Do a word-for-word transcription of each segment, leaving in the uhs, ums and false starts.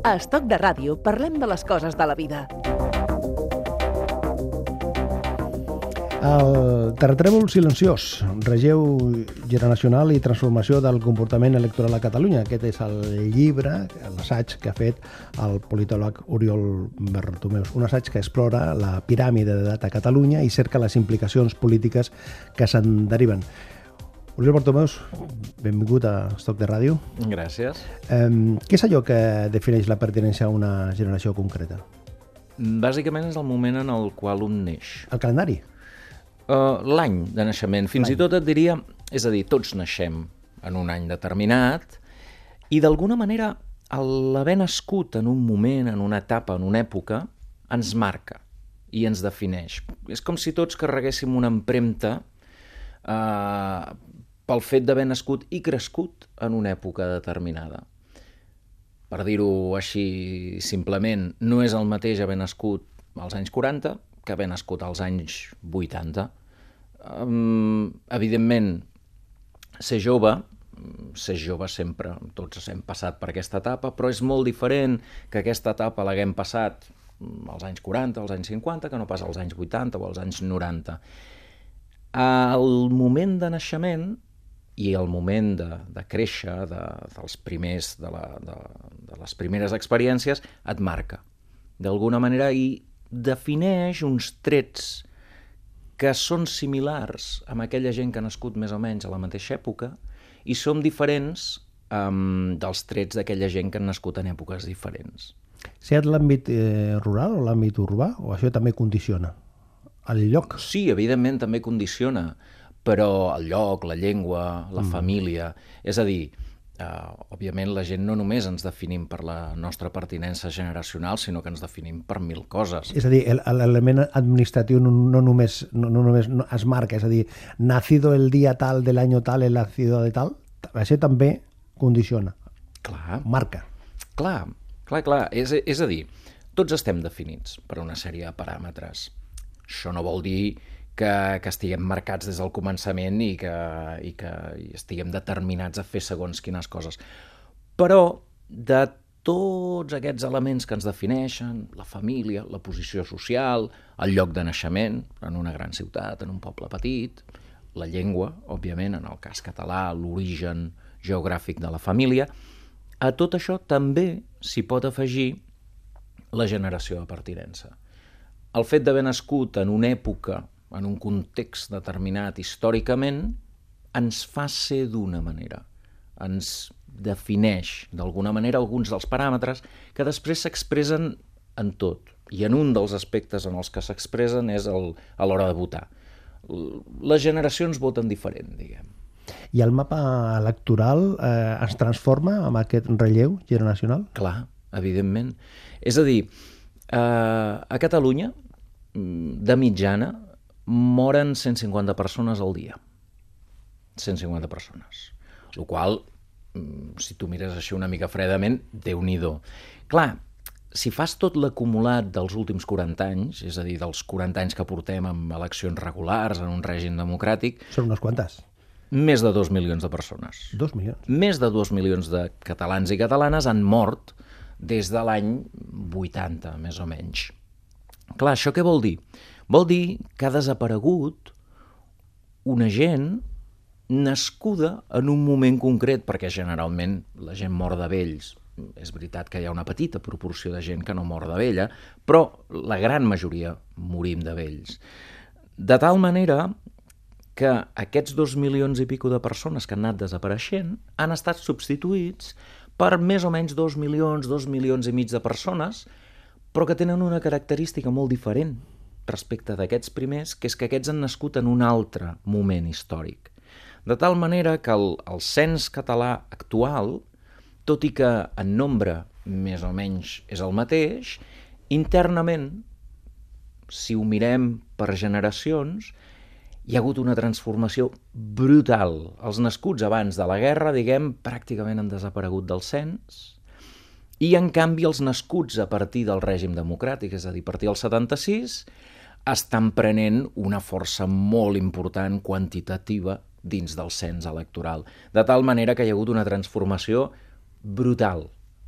A Estoc de Ràdio parlem de les coses de la vida. El terratrèmol silenciós, relleu generacional i transformació del comportament electoral a Catalunya. Aquest és el llibre, l'assaig que ha fet el politòleg Oriol Bertomeus. Un assaig que explora la piràmide d'edat a Catalunya i cerca les implicacions polítiques que se'n deriven. Oriol Bertomeus, benvingut a Estoc de Ràdio. Gràcies. Eh, què és allò que defineix la pertinença a una generació concreta? Bàsicament és el moment en el qual un neix. El calendari? Uh, l'any de naixement. Fins i tot et diria, és a dir, tots naixem en un any determinat i d'alguna manera l'haver nascut en un moment, en una etapa, en una època, ens marca i ens defineix. És com si tots carreguéssim una empremta uh, pel fet d'haver nascut i crescut en una època determinada. Per dir-ho així simplement, no és el mateix haver nascut als anys quaranta que haver nascut als anys vuitanta. Um, evidentment, ser jove, ser jove sempre, tots hem passat per aquesta etapa, però és molt diferent que aquesta etapa l'haguem passat als anys quaranta, als anys cinquanta, que no pas als anys vuitanta o als anys noranta. El moment de naixement i el moment de, de créixer, de, dels primers, de, la, de, de les primeres experiències, et marca d'alguna manera i defineix uns trets que són similars amb aquella gent que ha nascut més o menys a la mateixa època i són diferents um, dels trets d'aquella gent que han nascut en èpoques diferents. Sigui l'àmbit eh, rural o l'àmbit urbà, o això també condiciona el lloc? Sí, evidentment també condiciona, però el lloc, la llengua, la mm. família... És a dir, Uh, òbviament la gent no només ens definim per la nostra pertinença generacional, sinó que ens definim per mil coses. És a dir, l'element administratiu no, no, només, no, no només es marca, és a dir, nacido el dia tal de l'any tal en la ciutat de tal, això també condiciona. Clar. Marca. Clar, clar, clar. És, és a dir, tots estem definits per una sèrie de paràmetres. Això no vol dir que, que estiguem marcats des del començament i que, i que i estiguem determinats a fer segons quines coses. Però de tots aquests elements que ens defineixen, la família, la posició social, el lloc de naixement, en una gran ciutat, en un poble petit, la llengua, òbviament, en el cas català, l'origen geogràfic de la família, a tot això també s'hi pot afegir la generació de pertinença. El fet d'haver nascut en una època, en un context determinat històricament, ens fa ser d'una manera. Ens defineix d'alguna manera alguns dels paràmetres que després s'expressen en tot. I en un dels aspectes en els que s'expressen és el, a l'hora de votar. Les generacions voten diferent, diguem. I el mapa electoral eh, es transforma amb aquest relleu generacional? Clar, evidentment. És a dir, eh, a Catalunya, de mitjana, moren cent cinquanta persones al dia. cent cinquanta persones. El qual, si tu mires així una mica fredament, Déu-n'hi-do. Clar, si fas tot l'acumulat dels últims quaranta anys, és a dir, dels quaranta anys que portem amb eleccions regulars en un règim democràtic... Són unes quantes. Més de dos milions de persones. Dos milions? Més de dos milions de catalans i catalanes han mort des de l'any vuitanta, més o menys. Clar, això què vol dir? Vol dir que ha desaparegut una gent nascuda en un moment concret, perquè generalment la gent mor de vells. És veritat que hi ha una petita proporció de gent que no mor de vella, però la gran majoria morim de vells. De tal manera que aquests dos milions i pico de persones que han anat desapareixent han estat substituïts per més o menys dos milions, dos milions i mig de persones, però que tenen una característica molt diferent respecte d'aquests primers, que és que aquests han nascut en un altre moment històric. De tal manera que el, el cens català actual, tot i que en nombre més o menys és el mateix, internament, si ho mirem per generacions, hi ha hagut una transformació brutal. Els nascuts abans de la guerra, diguem, pràcticament han desaparegut del cens, i en canvi els nascuts a partir del règim democràtic, és a dir, a partir del setanta-sis, estan prenent una força molt important quantitativa dins del cens electoral. De tal manera que hi ha hagut una transformació brutal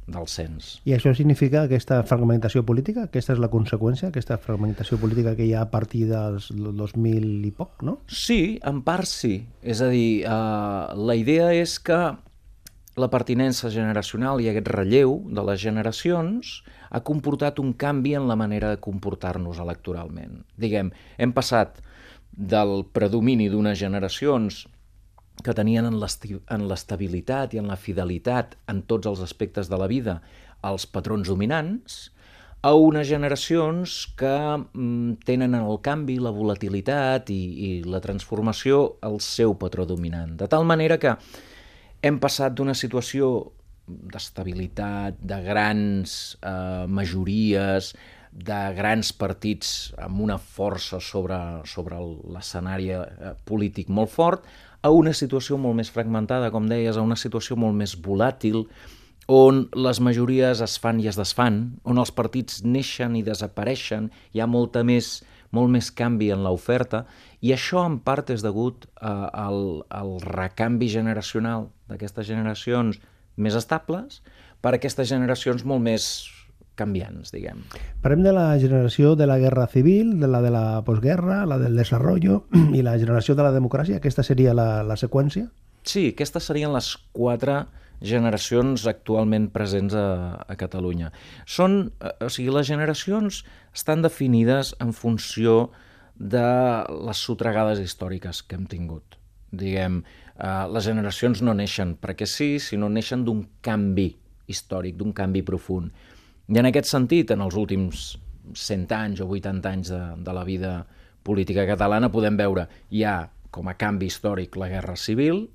del cens. I això significa aquesta fragmentació política? Aquesta és la conseqüència, aquesta fragmentació política que hi ha a partir dels dos mil i poc, no? Sí, en part sí. És a dir, eh, la idea és que la pertinença generacional i aquest relleu de les generacions ha comportat un canvi en la manera de comportar-nos electoralment. Diguem, hem passat del predomini d'unes generacions que tenien en l'estabilitat i en la fidelitat en tots els aspectes de la vida els patrons dominants, a unes generacions que mm, tenen en el canvi, la volatilitat i, i la transformació el seu patró dominant. De tal manera que hem passat d'una situació d'estabilitat, de grans eh, majories, de grans partits amb una força sobre, sobre l'escenari eh, polític molt fort, a una situació molt més fragmentada, com deies, a una situació molt més volàtil, on les majories es fan i es desfan, on els partits neixen i desapareixen, hi ha molta més, molt més canvi en l'oferta, i això en part és degut eh, al, al recanvi generacional d'aquestes generacions més estables per aquestes generacions molt més canviants, diguem. Parlem de la generació de la guerra civil, de la de la postguerra, la del desarrollo i la generació de la democràcia. Aquesta seria la, la seqüència? Sí, aquestes serien les quatre generacions actualment presents a, a Catalunya. Són, o sigui, les generacions estan definides en funció de les sotregades històriques que hem tingut. Diguem, eh, les generacions no neixen perquè sí, sinó neixen d'un canvi històric, d'un canvi profund. I en aquest sentit, en els últims cent anys o vuitanta anys de, de la vida política catalana podem veure, hi ha com a canvi històric la Guerra Civil,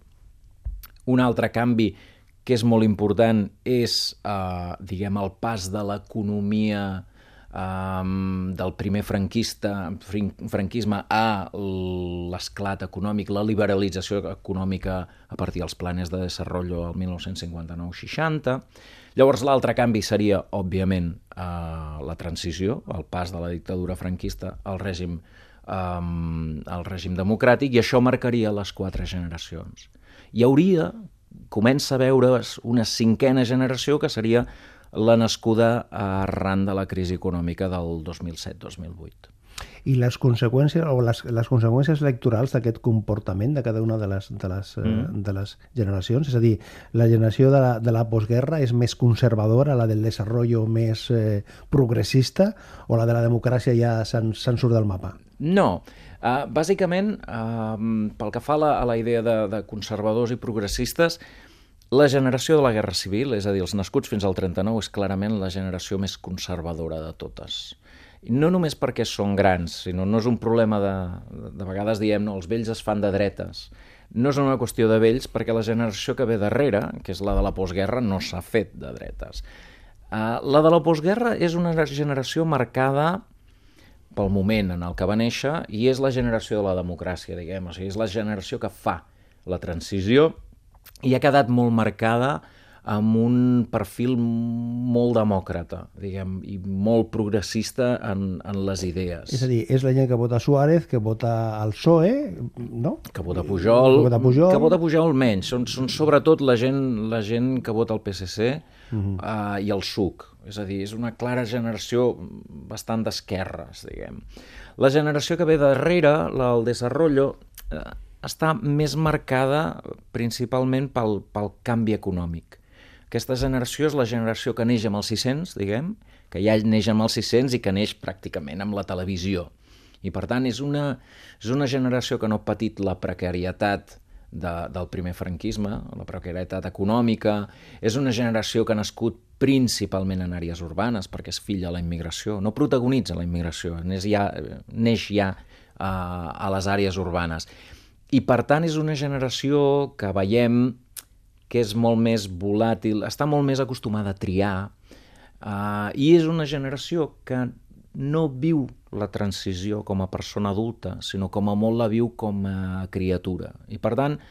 un altre canvi que és molt important és, eh, diguem, el pas de l'economia eh, del primer franquista, franquisme a l'esclat econòmic, la liberalització econòmica a partir dels planes de desenvolupament al dinou cinquanta-nou seixanta. Llavors l'altre canvi seria, òbviament, eh, la transició, el pas de la dictadura franquista al règim, eh, al règim democràtic, i això marcaria les quatre generacions. Hi hauria, comença a veure's una cinquena generació que seria la nascuda arran de la crisi econòmica del dos mil set dos mil vuit. I les conseqüències o les, les conseqüències electorals d'aquest comportament de cada una de les, de, les, mm. eh, de les generacions, és a dir, la generació de la, de la postguerra és més conservadora, la del desenvolupament més eh, progressista, o la de la democràcia ja se'n se surt del mapa? No. Uh, bàsicament, uh, pel que fa a la, a la idea de, de conservadors i progressistes, la generació de la Guerra Civil, és a dir, els nascuts fins al trenta-nou, és clarament la generació més conservadora de totes. I no només perquè són grans, sinó no és un problema de... De vegades diem, no, els vells es fan de dretes. No és una qüestió de vells, perquè la generació que ve darrere, que és la de la postguerra, no s'ha fet de dretes. Uh, la de la postguerra és una generació marcada pel moment en el que va néixer i és la generació de la democràcia, diguem. O sigui, és la generació que fa la transició i ha quedat molt marcada amb un perfil molt demòcrata, diguem, i molt progressista en, en les idees. És a dir, és la gent que vota Suárez, que vota el P S O E, no? Que vota Pujol, que vota Pujol, que vota Pujol menys. Són, són sobretot la gent, la gent que vota el P S C uh-huh. uh, i el S U C. És a dir, és una clara generació bastant d'esquerres, diguem. La generació que ve darrere, la del Desarrollo, eh, està més marcada principalment pel, pel canvi econòmic. Aquesta generació és la generació que neix amb els sis-cents, diguem, que ja neix amb els sis-cents i que neix pràcticament amb la televisió. I, per tant, és una, és una generació que no ha patit la precarietat de, del primer franquisme, la precarietat econòmica. És una generació que ha nascut principalment en àrees urbanes, perquè és fill de la immigració. No protagonitza la immigració, neix ja, neix ja uh, a les àrees urbanes. I, per tant, és una generació que veiem que és molt més volàtil, està molt més acostumada a triar, uh, i és una generació que no viu la transició com a persona adulta, sinó com a molt la viu com a criatura. I, per tant,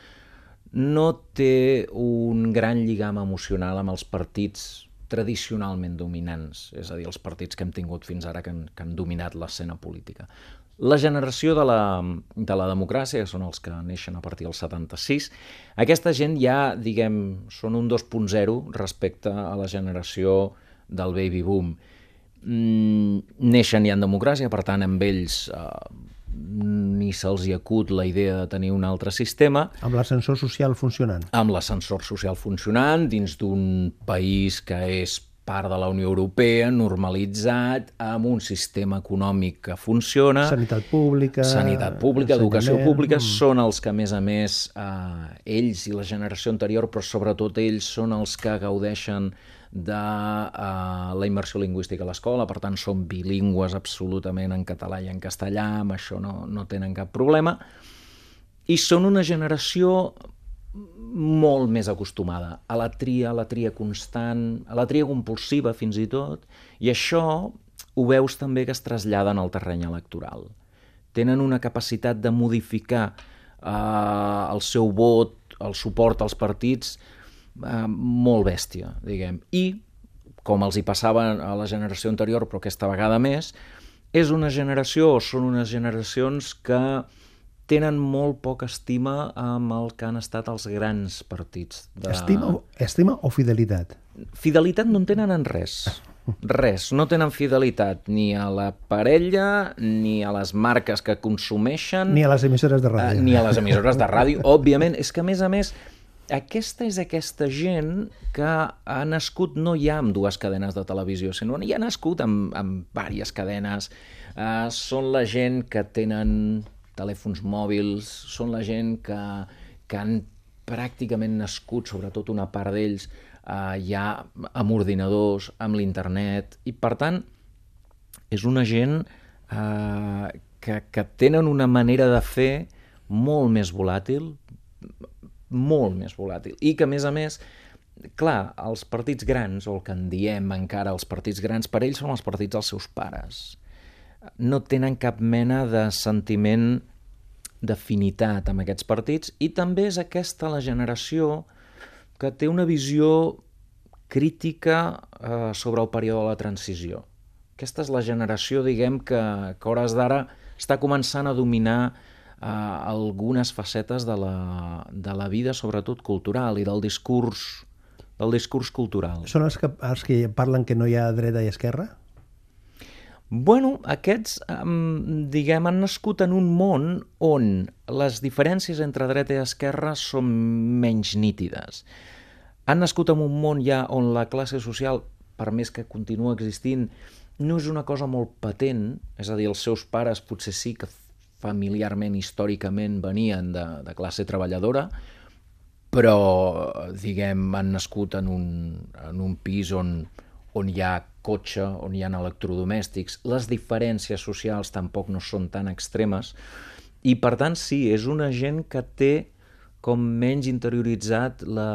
no té un gran lligam emocional amb els partits tradicionalment dominants, és a dir, els partits que hem tingut fins ara que han, que han dominat l'escena política. La generació de la, de la democràcia, que són els que neixen a partir del setanta-sis, aquesta gent ja, diguem, són un dos punt zero respecte a la generació del baby boom. Mm, neixen ja en democràcia, per tant, amb ells eh, ni se'ls hi acut la idea de tenir un altre sistema. Amb l'ascensor social funcionant. Amb l'ascensor social funcionant, dins d'un país que és part de la Unió Europea, normalitzat, amb un sistema econòmic que funciona. Sanitat pública... Sanitat pública, educació pública, mm. són els que, a més a més, eh, ells i la generació anterior, però sobretot ells són els que gaudeixen de uh, la immersió lingüística a l'escola, per tant són bilingües absolutament en català i en castellà, amb això no, no tenen cap problema, i són una generació molt més acostumada a la tria, a la tria constant, a la tria compulsiva fins i tot, i això ho veus també que es trasllada en el terreny electoral. Tenen una capacitat de modificar uh, el seu vot, el suport als partits, Uh, molt bèstia, diguem. I, com els hi passava a la generació anterior, però aquesta vegada més, és una generació, o són unes generacions que tenen molt poca estima amb el que han estat els grans partits. De... Estima, estima o fidelitat? Fidelitat no en tenen en res. Res. No tenen fidelitat ni a la parella, ni a les marques que consumeixen... Ni a les emissores de ràdio. Uh, ni a les emissores de ràdio, òbviament. És que, a més a més, aquesta és aquesta gent que ha nascut no ja amb dues cadenes de televisió, sinó ja ha nascut amb, amb diverses cadenes. Uh, són la gent que tenen telèfons mòbils, són la gent que, que han pràcticament nascut, sobretot una part d'ells, uh, ja amb ordinadors, amb l'internet, i per tant és una gent uh, que, que tenen una manera de fer molt més volàtil, molt més volàtil, i que, a més a més, clar, els partits grans, o el que en diem encara els partits grans, per ells són els partits dels seus pares. No tenen cap mena de sentiment d'afinitat amb aquests partits, i també és aquesta la generació que té una visió crítica eh, sobre el període de la transició. Aquesta és la generació, diguem, que, que a hores d'ara està començant a dominar Uh, algunes facetes de la, de la vida, sobretot cultural, i del discurs, del discurs cultural. Són els que, els que parlen que no hi ha dreta i esquerra? Bueno, aquests, um, diguem, han nascut en un món on les diferències entre dreta i esquerra són menys nítides. Han nascut en un món ja on la classe social, per més que continua existint, no és una cosa molt patent, és a dir, els seus pares potser sí que familiarment, històricament, venien de, de classe treballadora, però, diguem, han nascut en un, en un pis on, on hi ha cotxe, on hi ha electrodomèstics. Les diferències socials tampoc no són tan extremes, i, per tant, sí, és una gent que té com menys interioritzat la,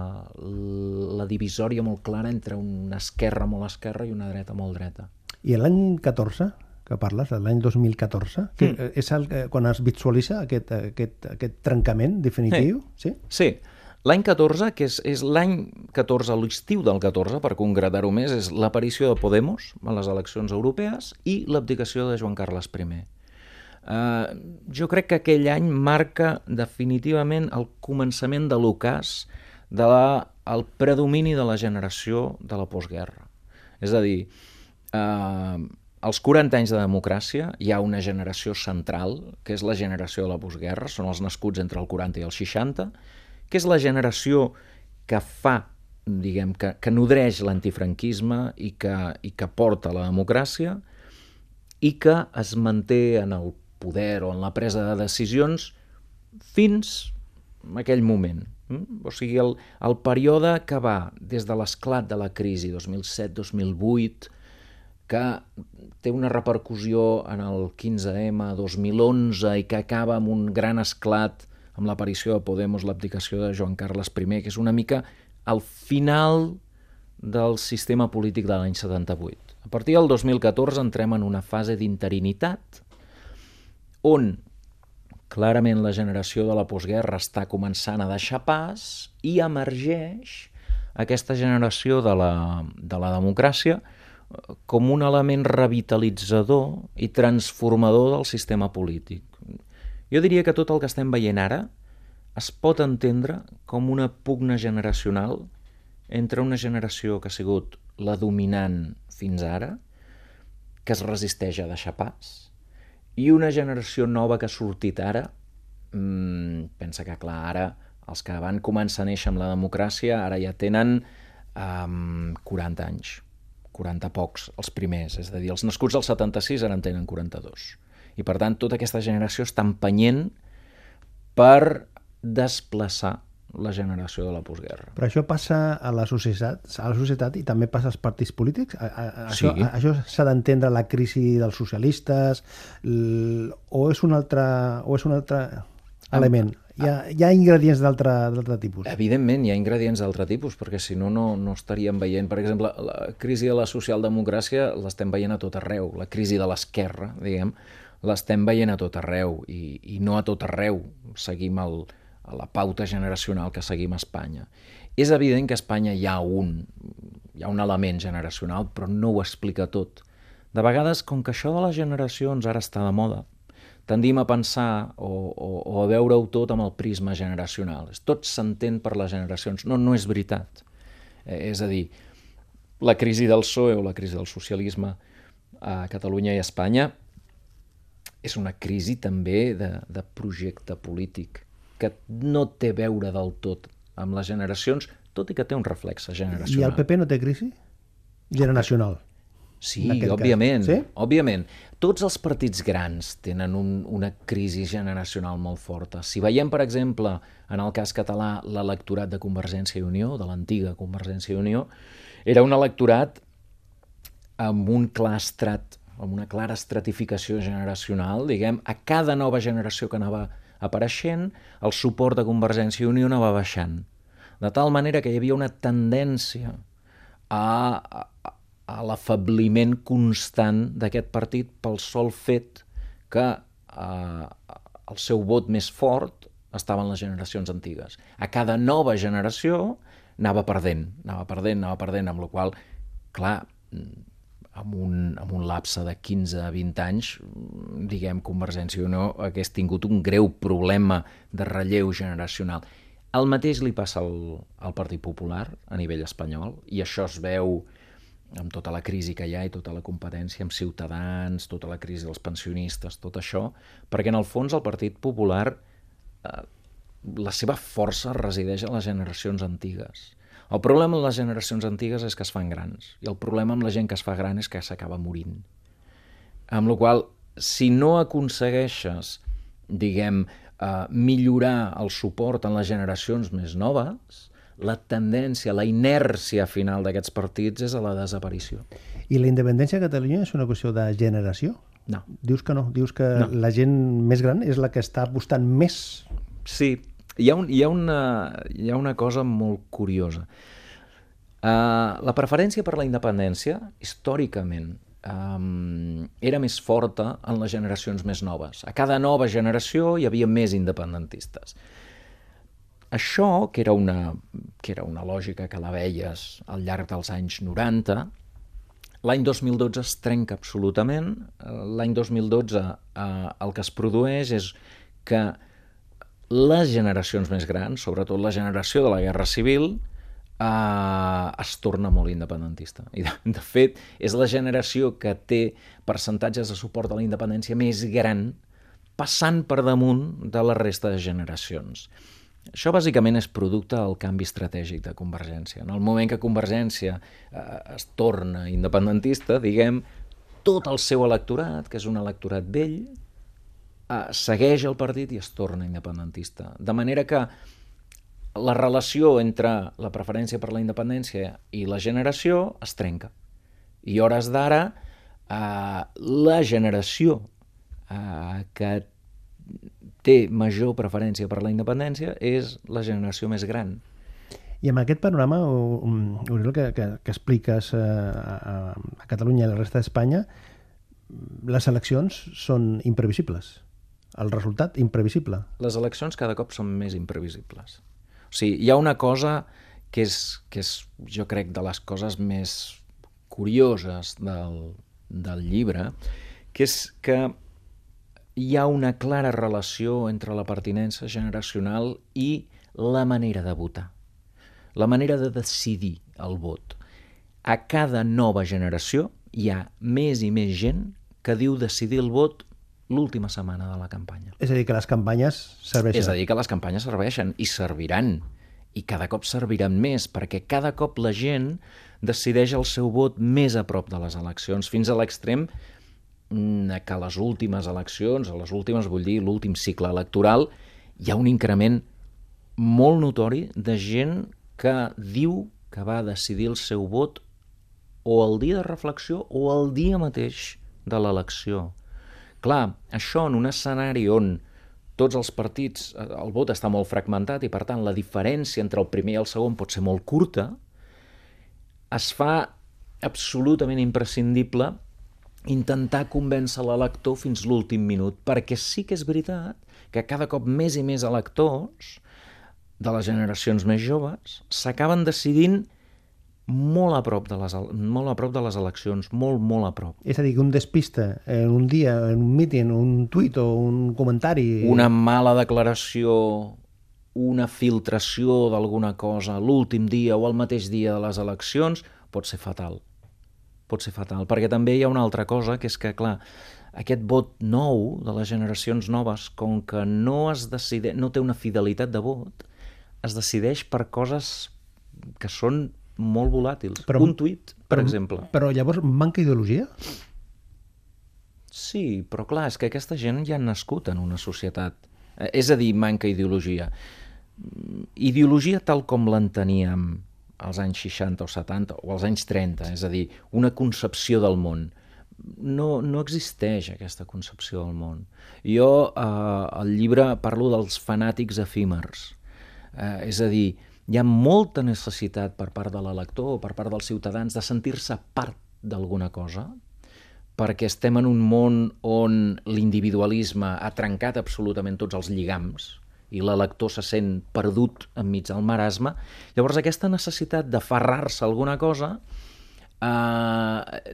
la divisòria molt clara entre una esquerra molt esquerra i una dreta molt dreta. I l'any catorze, que parles, l'any dos mil catorze, que mm. és el, quan es visualitza aquest, aquest, aquest trencament definitiu? Sí, sí. sí. L'any catorze, que és, és l'any catorze, l'estiu del catorze, per concretar-ho més, és l'aparició de Podemos a les eleccions europees i l'abdicació de Joan Carles primer. Uh, jo crec que aquell any marca definitivament el començament de l'ocàs del predomini de la generació de la postguerra. És a dir, uh, als quaranta anys de democràcia hi ha una generació central, que és la generació de la postguerra, són els nascuts entre el quaranta i el seixanta, que és la generació que fa, diguem, que, que nodreix l'antifranquisme i que, i que porta la democràcia i que es manté en el poder o en la presa de decisions fins a aquell moment. O sigui, el, el període que va des de l'esclat de la crisi dos mil set dos mil vuit, que té una repercussió en el quinze ema dos mil onze i que acaba amb un gran esclat amb l'aparició de Podemos, l'abdicació de Joan Carles primer, que és una mica al final del sistema polític de l'any setanta-vuit. A partir del dos mil catorze entrem en una fase d'interinitat on clarament la generació de la postguerra està començant a deixar pas i emergeix aquesta generació de la, de la democràcia com un element revitalitzador i transformador del sistema polític. Jo diria que tot el que estem veient ara es pot entendre com una pugna generacional entre una generació que ha sigut la dominant fins ara, que es resisteix a deixar pas, i una generació nova que ha sortit ara. Mm, pensa que, clar, ara els que van començar a néixer amb la democràcia ara ja tenen um, quaranta anys, quaranta pocs, els primers, és a dir, els nascuts al setanta-sis ara en tenen quaranta-dos. I per tant, tota aquesta generació està empenyent per desplaçar la generació de la postguerra. Però això passa a la societat, a la societat i també passa als partits polítics? A, a, a Sí. Això, a, això s'ha d'entendre la crisi dels socialistes l, o és un altre, o és un altre element? Hi ha, hi ha ingredients d'altre d'altre tipus? Evidentment, hi ha ingredients d'altre tipus, perquè si no, no, no estaríem veient... Per exemple, la crisi de la socialdemocràcia l'estem veient a tot arreu. La crisi de l'esquerra, diguem, l'estem veient a tot arreu. I, i no a tot arreu seguim el, la pauta generacional que seguim a Espanya. És evident que a Espanya hi ha un, hi ha un element generacional, però no ho explica tot. De vegades, com que això de les generacions ara està de moda, tendim a pensar o, o, o a veure-ho tot amb el prisma generacional. Tot s'entén per les generacions. No, no és veritat. Eh, és a dir, la crisi del P S O E o la crisi del socialisme a Catalunya i a Espanya és una crisi també de, de projecte polític que no té a veure del tot amb les generacions, tot i que té un reflex generacional. I el P P no té crisi? Generacional. Sí, cas. òbviament, Sí? òbviament. Tots els partits grans tenen un, una crisi generacional molt forta. Si veiem, per exemple, en el cas català, l'electorat de Convergència i Unió, de l'antiga Convergència i Unió, era un electorat amb un clar estrat, amb una clara estratificació generacional, diguem, a cada nova generació que anava apareixent, el suport de Convergència i Unió anava baixant. De tal manera que hi havia una tendència a, a, a l'afabliment constant d'aquest partit pel sol fet que eh, el seu vot més fort estava en les generacions antigues. A cada nova generació anava perdent, anava perdent, anava perdent, amb la qual cosa, clar, amb un, amb un lapse de quinze a vint anys, diguem, Convergència i Unió hagués tingut un greu problema de relleu generacional. El mateix li passa al, al Partit Popular a nivell espanyol, i això es veu amb tota la crisi que hi ha i tota la competència amb Ciutadans, tota la crisi dels pensionistes, tot això, perquè en el fons el Partit Popular, eh, la seva força resideix en les generacions antigues. El problema amb les generacions antigues és que es fan grans, i el problema amb la gent que es fa gran és que s'acaba morint. Amb la qual cosa, si no aconsegueixes, diguem, eh, millorar el suport en les generacions més noves, la tendència, la inèrcia final d'aquests partits és a la desaparició. I la independència a Catalunya és una qüestió de generació? No. Dius que no, dius que No. la gent més gran és la que està apostant més. Sí, hi ha, un, hi ha, una, hi ha una cosa molt curiosa. Uh, la preferència per la independència, històricament, um, era més forta en les generacions més noves. A cada nova generació hi havia més independentistes. Això, que era una, que era una lògica que la veies al llarg dels anys noranta, l'any dos mil dotze es trenca absolutament. L'any dos mil dotze eh, el que es produeix és que les generacions més grans, sobretot la generació de la Guerra Civil, eh, es torna molt independentista. I de, de fet, és la generació que té percentatges de suport a la independència més gran, passant per damunt de la resta de generacions. Això bàsicament és producte del canvi estratègic de Convergència. En el moment que Convergència eh, es torna independentista, diguem, tot el seu electorat, que és un electorat vell, eh, segueix el partit i es torna independentista. De manera que la relació entre la preferència per la independència i la generació es trenca. I a hores d'ara, eh, la generació eh, que té major preferència per la independència és la generació més gran. I amb aquest panorama, Oriol, que, que, que expliques eh, a, a Catalunya i a la resta d'Espanya, les eleccions són imprevisibles. El resultat, imprevisible. Les eleccions cada cop són més imprevisibles. O sigui, hi ha una cosa que és, que és, jo crec, de les coses més curioses del, del llibre, que és que hi ha una clara relació entre la pertinença generacional i la manera de votar, la manera de decidir el vot. A cada nova generació hi ha més i més gent que diu decidir el vot l'última setmana de la campanya. És a dir, que les campanyes serveixen. És a dir, que les campanyes serveixen i serviran, i cada cop serviran més, perquè cada cop la gent decideix el seu vot més a prop de les eleccions, fins a l'extrem que a les últimes eleccions, a les últimes, vull dir, l'últim cicle electoral, hi ha un increment molt notori de gent que diu que va decidir el seu vot o el dia de reflexió o el dia mateix de l'elecció. Clar, això en un escenari on tots els partits, el vot està molt fragmentat i per tant la diferència entre el primer i el segon pot ser molt curta, es fa absolutament imprescindible intentar convèncer l'elector fins l'últim minut, perquè sí que és veritat que cada cop més i més electors de les generacions més joves s'acaben decidint molt a prop de les, molt a prop de les eleccions, molt, molt a prop. És a dir, que un despista en un dia, en un míting, un tuit o un comentari... Una mala declaració, una filtració d'alguna cosa l'últim dia o el mateix dia de les eleccions pot ser fatal. Pot ser fatal, perquè també hi ha una altra cosa, que és que, clar, aquest vot nou de les generacions noves, com que no es decide, no té una fidelitat de vot, es decideix per coses que són molt volàtils. Però, un tuit, per però, exemple. Però llavors manca ideologia? Sí, però clar, és que aquesta gent ja ha nascut en una societat. És a dir, manca ideologia. Ideologia tal com l'enteníem als anys seixanta o setanta o als anys trenta, és a dir, una concepció del món. No, no existeix aquesta concepció del món. Jo eh, al llibre parlo dels fanàtics efímers. Eh, és a dir, hi ha molta necessitat per part de l'elector o per part dels ciutadans de sentir-se part d'alguna cosa, perquè estem en un món on l'individualisme ha trencat absolutament tots els lligams i l'elector se sent perdut enmig del marasme. Llavors aquesta necessitat d'aferrar-se a alguna cosa eh,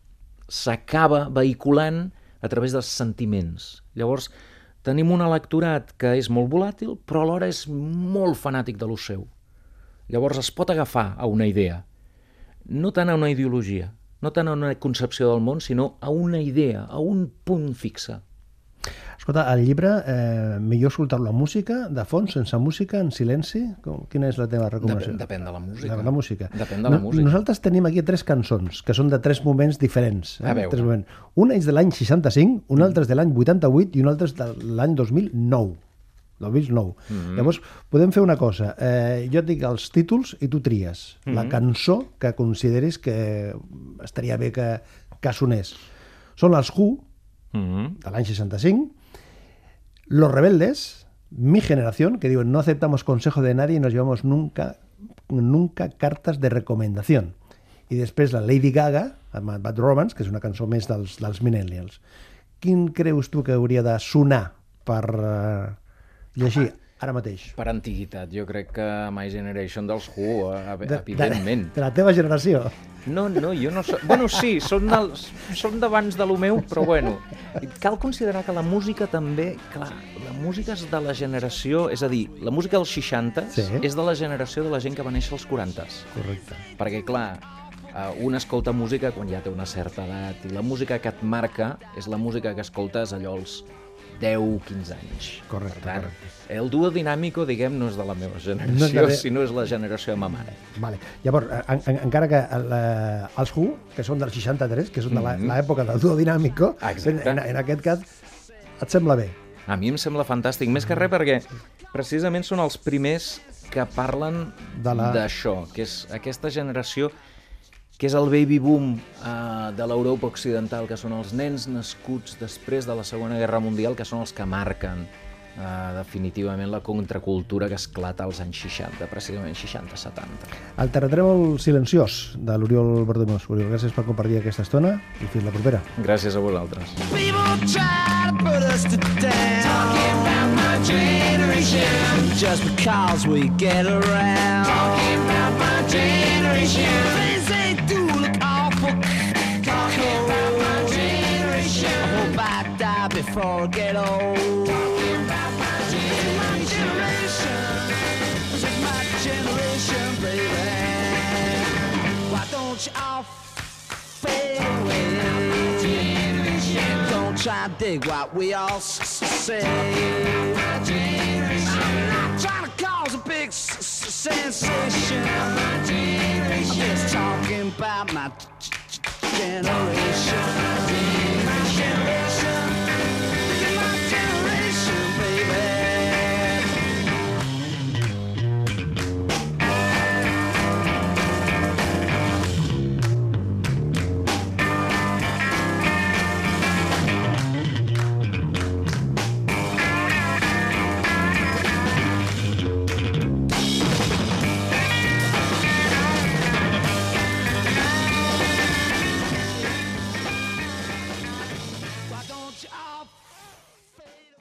s'acaba vehiculant a través dels sentiments. Llavors tenim un electorat que és molt volàtil, però alhora és molt fanàtic de lo seu. Llavors es pot agafar a una idea, no tant a una ideologia, no tant a una concepció del món, sinó a una idea, a un punt fixe. Escolta, al llibre, eh, millor escoltar la música, de fons, sense música, en silenci? Com, quina és la teva recomanació? Depèn, depèn de la música. De la música. Depèn de la no, música. Nosaltres tenim aquí tres cançons, que són de tres moments diferents. Eh? A veure. Tres moments. Una és de l'any seixanta-cinc, una altra és de l'any vuitanta-vuit i una altra és de l'any dos mil nou. dos mil nou. Mm-hmm. Llavors, podem fer una cosa. Eh, jo et dic els títols i tu tries. Mm-hmm. La cançó que consideris que estaria bé que, que sonés. Són els Who, mm-hmm, de l'any seixanta-cinc, Los Rebeldes, Mi Generación, que diuen no aceptamos consejo de nadie y nos llevamos nunca, nunca cartas de recomendación. I després la Lady Gaga, amb Bad Romance, que és una cançó més dels, dels millennials. Quin creus tu que hauria de sonar per uh, llegir ara mateix? Per antiguitat, jo crec que My Generation dels Who, De, evidentment. de, de la teva generació. No, no, jo no soc... Bueno, sí, són, dels, són d'abans de lo meu, però bueno. Cal considerar que la música també... Clar, la música és de la generació... És a dir, la música dels seixanta Sí. és de la generació de la gent que va néixer als quaranta. Correcte. Perquè, clar, un escolta música quan ja té una certa edat i la música que et marca és la música que escoltes allò als deu quinze anys. Correcte, Per tant, correcte. el duo dinàmico, diguem, no és de la meva generació, No és de la- sinó és la generació de ma mare. Vale. Llavors, en, en, encara que la, els Who, que són del seixanta-tres, que són de Mhm. l'època del duo dinàmico, Exacte. en, en aquest cas, et sembla bé? A mi em sembla fantàstic, més que res perquè precisament són els primers que parlen De la- d'això, que és aquesta generació que és el baby boom eh, de l'Europa occidental, que són els nens nascuts després de la Segona Guerra Mundial, que són els que marquen eh, definitivament la contracultura que esclata als anys seixanta, precisament seixanta setanta. El terratrèmol silenciós de l'Oriol Berdomós. Oriol, gràcies per compartir aquesta estona i fins la propera. Gràcies a vosaltres. People try to put us to down, talking about my generation, just because we get around, talking about my generation. Things they do look awful before I get old. Talking about my generation. This is my generation, baby. Why don't you all fade away? Don't try to dig what we all s- say. I'm not trying to cause a big s- s- sensation. I'm just talking about my g- g- generation.